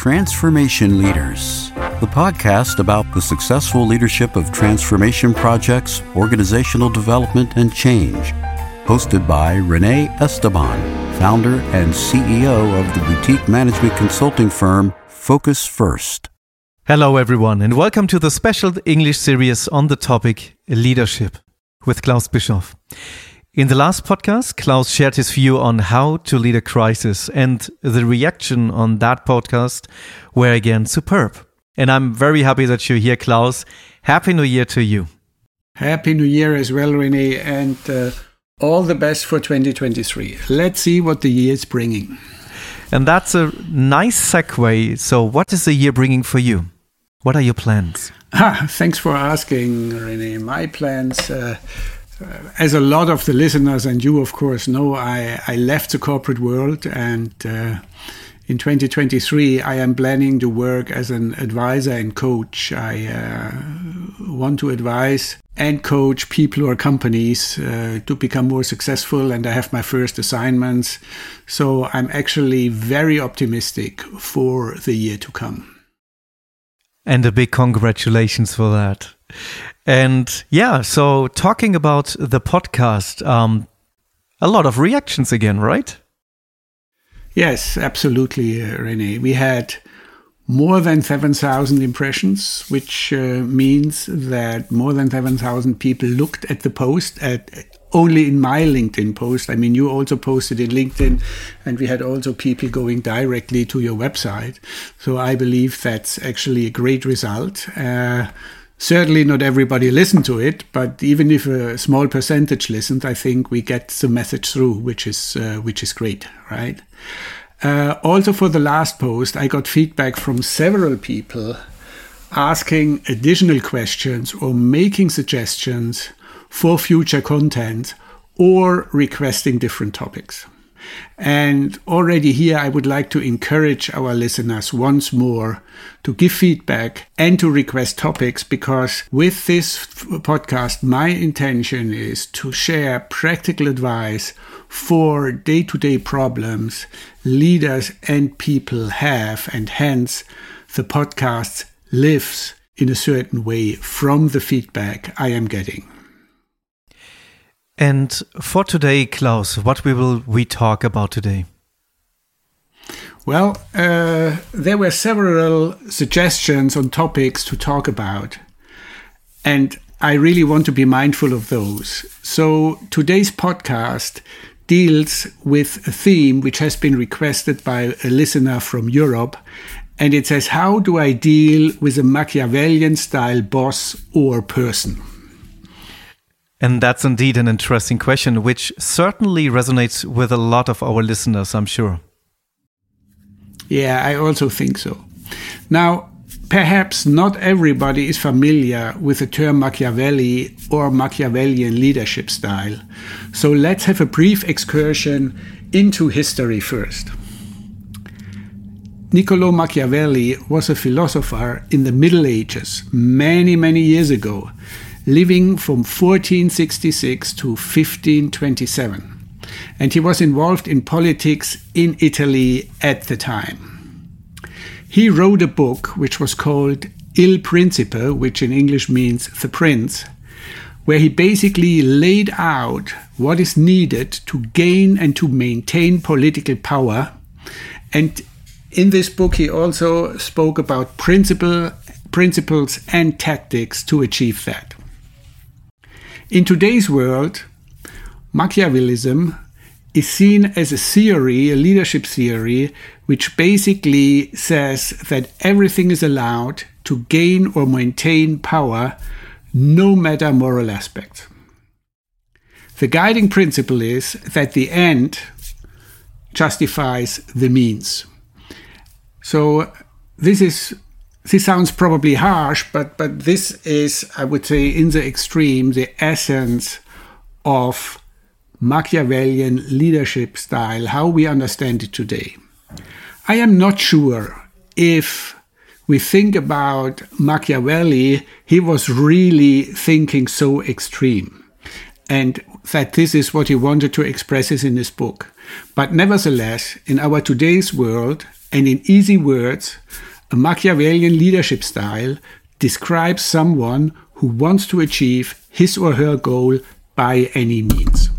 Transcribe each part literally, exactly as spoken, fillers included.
Transformation Leaders, the podcast about the successful leadership of transformation projects, organizational development, and change. Hosted by Renee Esteban, founder and C E O of the boutique management consulting firm Focus First. Hello everyone and welcome to the special English series on the topic leadership with Klaus Bischoff. In the last podcast, Klaus shared his view on how to lead a crisis, and the reaction on that podcast were again superb. And I'm very happy that you're here, Klaus. Happy New Year to you. Happy New Year as well, Renee, and uh, all the best for twenty twenty-three. Let's see what the year is bringing. And that's a nice segue. So what is the year bringing for you? What are your plans? Ah, thanks for asking, Renee. My plans... Uh, Uh, as a lot of the listeners and you, of course, know, I, I left the corporate world, and uh, in twenty twenty-three, I am planning to work as an advisor and coach. I uh, want to advise and coach people or companies uh, to become more successful, and I have my first assignments. So I'm actually very optimistic for the year to come. And a big congratulations for that. And yeah, so talking about the podcast, um, a lot of reactions again, right? Yes, absolutely, uh, Renee. We had more than seven thousand impressions, which uh, means that more than seven thousand people looked at the post, at only in my LinkedIn post. I mean, you also posted in LinkedIn, and we had also people going directly to your website. So I believe that's actually a great result. Uh, Certainly not everybody listened to it, but even if a small percentage listened, I think we get the message through, which is uh, which is great, right? Uh, also for the last post, I got feedback from several people asking additional questions or making suggestions for future content or requesting different topics. And already here, I would like to encourage our listeners once more to give feedback and to request topics, because with this f- podcast, my intention is to share practical advice for day-to-day problems leaders and people have, and hence the podcast lives in a certain way from the feedback I am getting. And for today, Klaus, what we will we talk about today? Well, uh, there were several suggestions on topics to talk about, and I really want to be mindful of those. So today's podcast deals with a theme which has been requested by a listener from Europe, and it says, how do I deal with a Machiavellian-style boss or person? And that's indeed an interesting question, which certainly resonates with a lot of our listeners, I'm sure. Yeah, I also think so. Now, perhaps not everybody is familiar with the term Machiavelli or Machiavellian leadership style. So let's have a brief excursion into history first. Niccolò Machiavelli was a philosopher in the Middle Ages, many, many years ago, living from fourteen sixty-six to fifteen twenty-seven. And he was involved in politics in Italy at the time. He wrote a book which was called Il Principe, which in English means The Prince, where he basically laid out what is needed to gain and to maintain political power. And in this book, he also spoke about principle, principles and tactics to achieve that. In today's world, Machiavellism is seen as a theory, a leadership theory, which basically says that everything is allowed to gain or maintain power, no matter moral aspect. The guiding principle is that the end justifies the means. So this is This sounds probably harsh, but, but this is, I would say, in the extreme, the essence of Machiavellian leadership style, how we understand it today. I am not sure if we think about Machiavelli, he was really thinking so extreme. And that this is what he wanted to express in his book. But nevertheless, in our today's world, and in easy words, a Machiavellian leadership style describes someone who wants to achieve his or her goal by any means.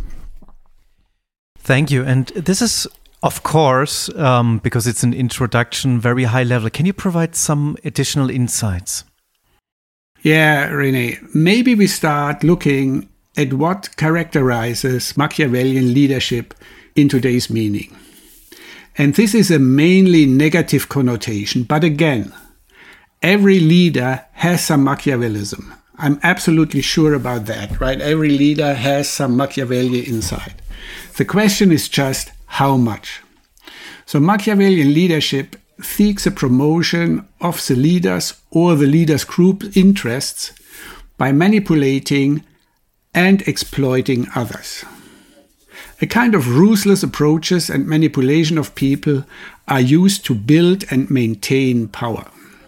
Thank you. And this is, of course, um, because it's an introduction, very high level. Can you provide some additional insights? Yeah, Rene, maybe we start looking at what characterizes Machiavellian leadership in today's meaning. And this is a mainly negative connotation, but again, every leader has some Machiavellism. I'm absolutely sure about that, right? Every leader has some Machiavelli inside. The question is just how much. So Machiavellian leadership seeks a promotion of the leaders or the leaders' group interests by manipulating and exploiting others. A kind of ruthless approaches and manipulation of people are used to build and maintain power.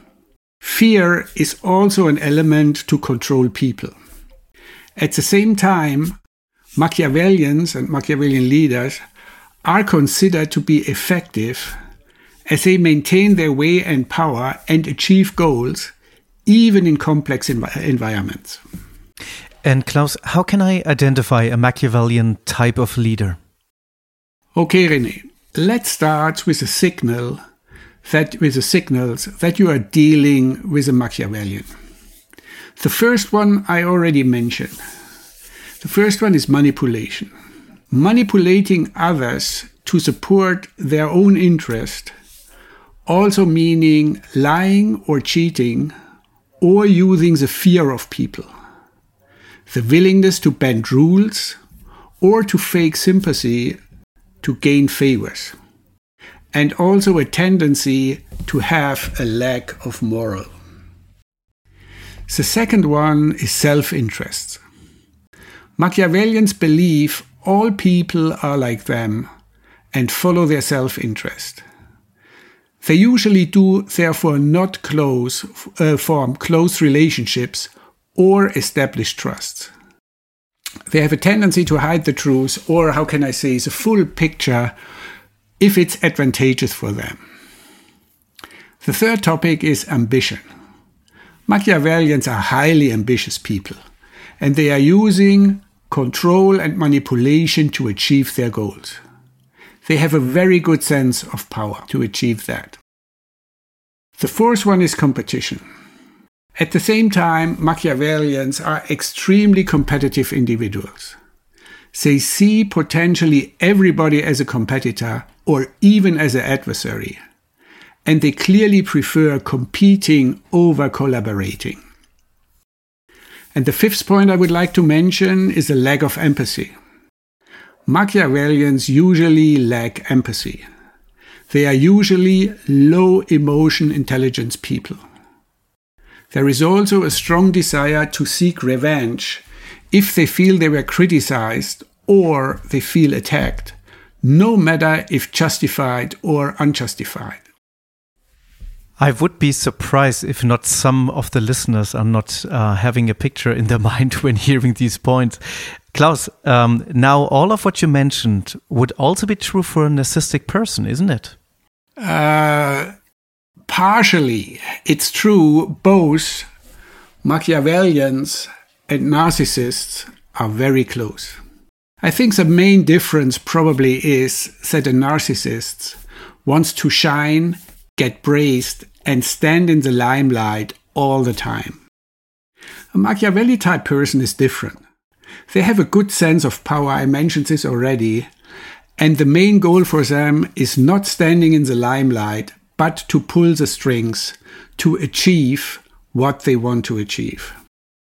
Fear is also an element to control people. At the same time, Machiavellians and Machiavellian leaders are considered to be effective as they maintain their way and power and achieve goals, even in complex env- environments. And Klaus, how can I identify a Machiavellian type of leader? Okay, René, let's start with a signal that with the signals that you are dealing with a Machiavellian. The first one I already mentioned. The first one is manipulation. Manipulating others to support their own interest, also meaning lying or cheating or using the fear of people. The willingness to bend rules or to fake sympathy to gain favors. And also a tendency to have a lack of moral. The second one is self-interest. Machiavellians believe all people are like them and follow their self-interest. They usually do therefore not close, uh, form close relationships or establish trust. They have a tendency to hide the truth, or how can I say, the full picture if it's advantageous for them. The third topic is ambition. Machiavellians are highly ambitious people, and they are using control and manipulation to achieve their goals. They have a very good sense of power to achieve that. The fourth one is competition. At the same time, Machiavellians are extremely competitive individuals. They see potentially everybody as a competitor or even as an adversary, and they clearly prefer competing over collaborating. And the fifth point I would like to mention is a lack of empathy. Machiavellians usually lack empathy. They are usually low emotion intelligence people. There is also a strong desire to seek revenge if they feel they were criticized or they feel attacked, no matter if justified or unjustified. I would be surprised if not some of the listeners are not uh, having a picture in their mind when hearing these points. Klaus, um, now all of what you mentioned would also be true for a narcissistic person, isn't it? Uh, partially. It's true both Machiavellians and narcissists are very close. I think the main difference probably is that a narcissist wants to shine, get praised, and stand in the limelight all the time. A Machiavelli type person is different. They have a good sense of power, I mentioned this already, and the main goal for them is not standing in the limelight, but to pull the strings to achieve what they want to achieve.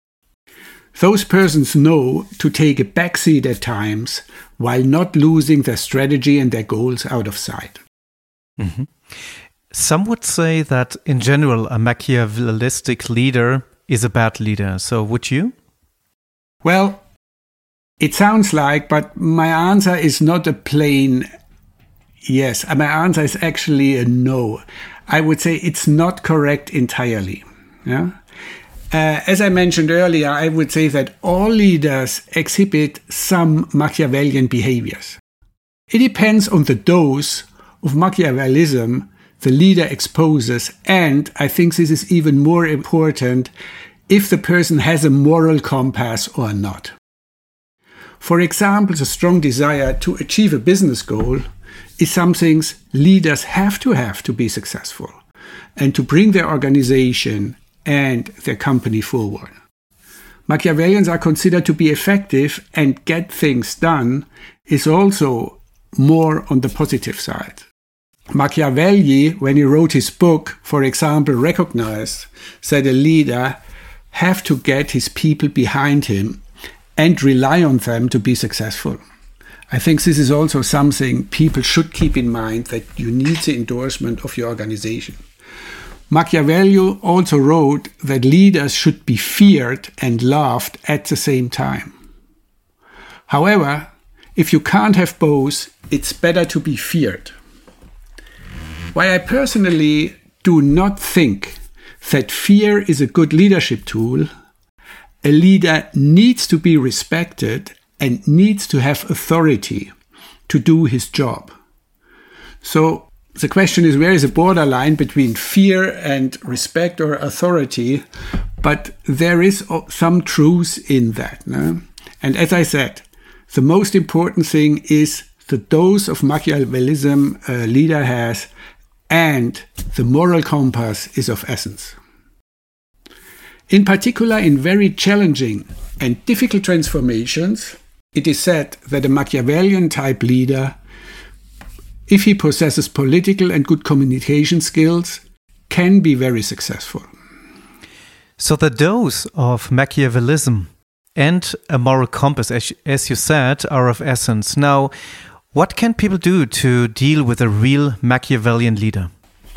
Those persons know to take a backseat at times while not losing their strategy and their goals out of sight. Mm-hmm. Some would say that in general a Machiavellistic leader is a bad leader. So would you? Well, it sounds like, but my answer is not a plain yes. My answer is actually a no. I would say it's not correct entirely. Yeah? Uh, as I mentioned earlier, I would say that all leaders exhibit some Machiavellian behaviors. It depends on the dose of Machiavellism the leader exposes, and I think this is even more important if the person has a moral compass or not. For example, the strong desire to achieve a business goal is something leaders have to have to be successful and to bring their organization and their company forward. Machiavellians are considered to be effective, and get things done is also more on the positive side. Machiavelli, when he wrote his book, for example, recognized that a leader have to get his people behind him and rely on them to be successful. I think this is also something people should keep in mind, that you need the endorsement of your organization. Machiavelli also wrote that leaders should be feared and loved at the same time. However, if you can't have both, it's better to be feared. While I personally do not think that fear is a good leadership tool, a leader needs to be respected and needs to have authority to do his job. So the question is, where is the borderline between fear and respect or authority? But there is some truth in that. No? And as I said, the most important thing is the dose of Machiavellism a leader has, and the moral compass is of essence. In particular, in very challenging and difficult transformations, it is said that a Machiavellian type leader, if he possesses political and good communication skills, can be very successful. So the dose of Machiavellism and a moral compass, as, as you said, are of essence. Now, what can people do to deal with a real Machiavellian leader?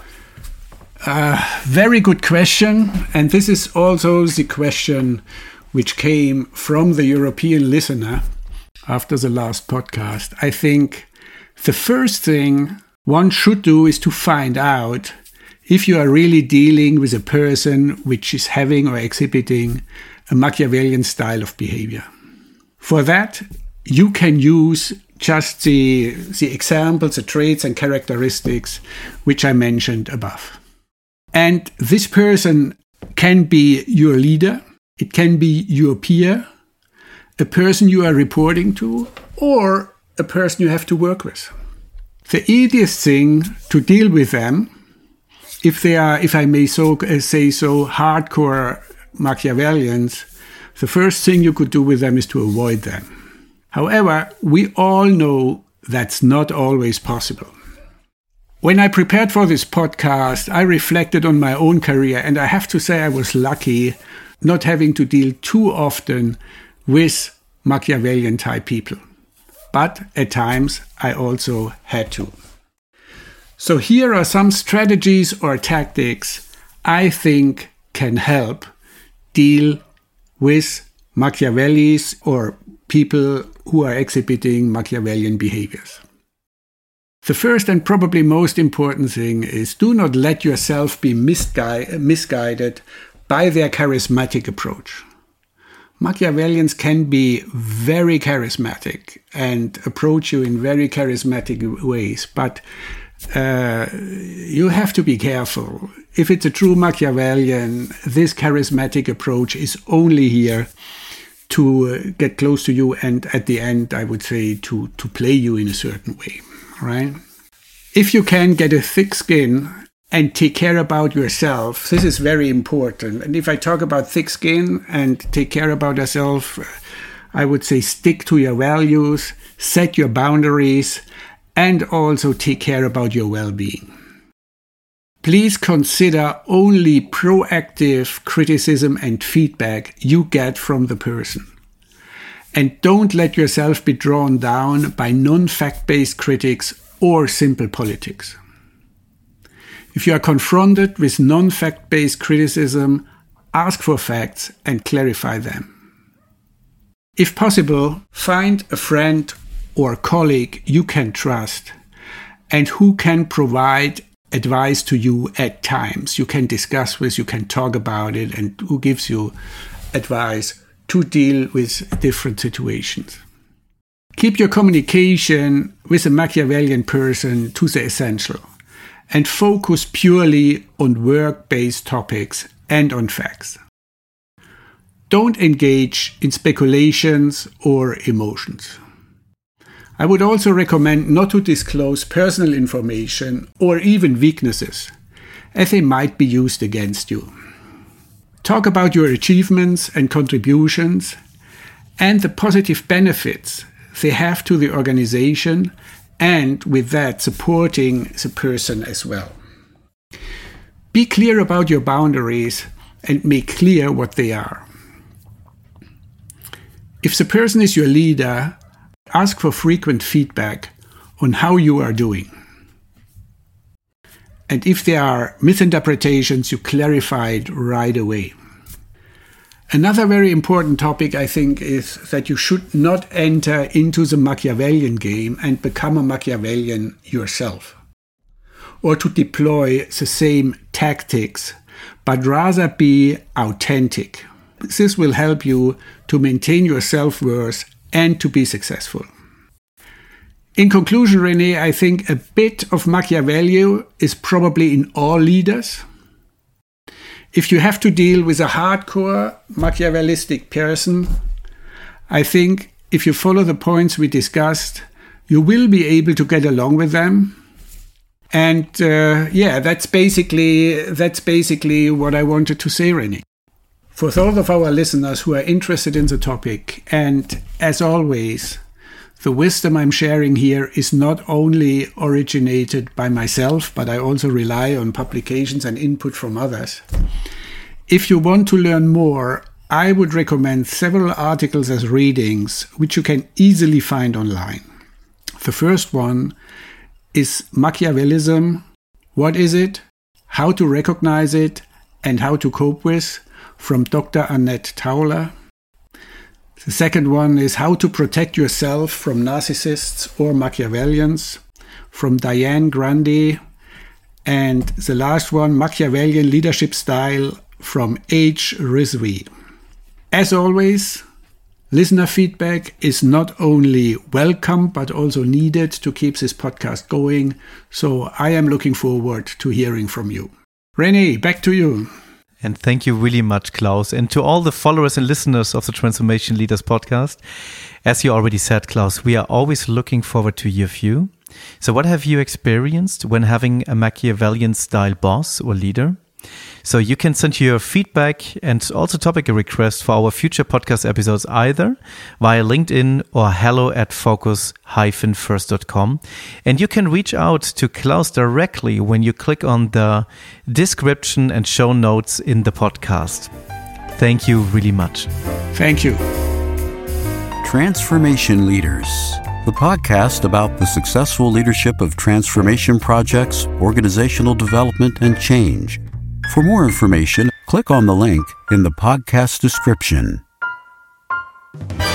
Uh, very good question. And this is also the question which came from the European listener after the last podcast. I think the first thing one should do is to find out if you are really dealing with a person which is having or exhibiting a Machiavellian style of behavior. For that, you can use just the, the examples, the traits and characteristics which I mentioned above. And this person can be your leader, it can be your peer, a person you are reporting to, or a person you have to work with. The easiest thing to deal with them, if they are, if I may so uh, say so, hardcore Machiavellians, the first thing you could do with them is to avoid them. However, we all know that's not always possible. When I prepared for this podcast, I reflected on my own career, and I have to say I was lucky not having to deal too often with Machiavellian type people. But at times I also had to. So here are some strategies or tactics I think can help deal with Machiavellis or people who are exhibiting Machiavellian behaviors. The first and probably most important thing is, do not let yourself be misgui- misguided by their charismatic approach. Machiavellians can be very charismatic and approach you in very charismatic ways, but uh, you have to be careful. If it's a true Machiavellian, this charismatic approach is only here to get close to you and at the end, I would say, to, to play you in a certain way, right? If you can get a thick skin and take care about yourself, this is very important. And if I talk about thick skin and take care about yourself, I would say stick to your values, set your boundaries, and also take care about your well-being. Please consider only proactive criticism and feedback you get from the person. And don't let yourself be drawn down by non-fact-based critics or simple politics. If you are confronted with non-fact-based criticism, ask for facts and clarify them. If possible, find a friend or colleague you can trust and who can provide advice to you at times. You can discuss with, you can talk about it, and who gives you advice to deal with different situations. Keep your communication with a Machiavellian person to the essential and focus purely on work-based topics and on facts. Don't engage in speculations or emotions. I would also recommend not to disclose personal information or even weaknesses, as they might be used against you. Talk about your achievements and contributions and the positive benefits they have to the organization, and with that supporting the person as well. Be clear about your boundaries and make clear what they are. If the person is your leader, ask for frequent feedback on how you are doing. And if there are misinterpretations, you clarify it right away. Another very important topic, I think, is that you should not enter into the Machiavellian game and become a Machiavellian yourself, or to deploy the same tactics, but rather be authentic. This will help you to maintain your self-worth and to be successful. In conclusion, René, I think a bit of Machiavelli is probably in all leaders. If you have to deal with a hardcore Machiavellistic person, I think if you follow the points we discussed, you will be able to get along with them. And uh, yeah, that's basically that's basically what I wanted to say, René. For those of our listeners who are interested in the topic, and as always, the wisdom I'm sharing here is not only originated by myself, but I also rely on publications and input from others. If you want to learn more, I would recommend several articles as readings, which you can easily find online. The first one is Machiavellism. What is it? How to recognize it and how to cope with, from Doctor Annette Tauler. The second one is How to Protect Yourself from Narcissists or Machiavellians, from Diane Grundy. And the last one, Machiavellian Leadership Style, from H. Rizvi. As always, listener feedback is not only welcome, but also needed to keep this podcast going. So I am looking forward to hearing from you. René, back to you. And thank you really much, Klaus. And to all the followers and listeners of the Transformation Leaders podcast, as you already said, Klaus, we are always looking forward to your view. So what have you experienced when having a Machiavellian style boss or leader? So you can send your feedback and also topic request for our future podcast episodes either via LinkedIn or hello at focus dash first dot com. And you can reach out to Klaus directly when you click on the description and show notes in the podcast. Thank you really much. Thank you. Transformation Leaders, the podcast about the successful leadership of transformation projects, organizational development, and change. For more information, click on the link in the podcast description.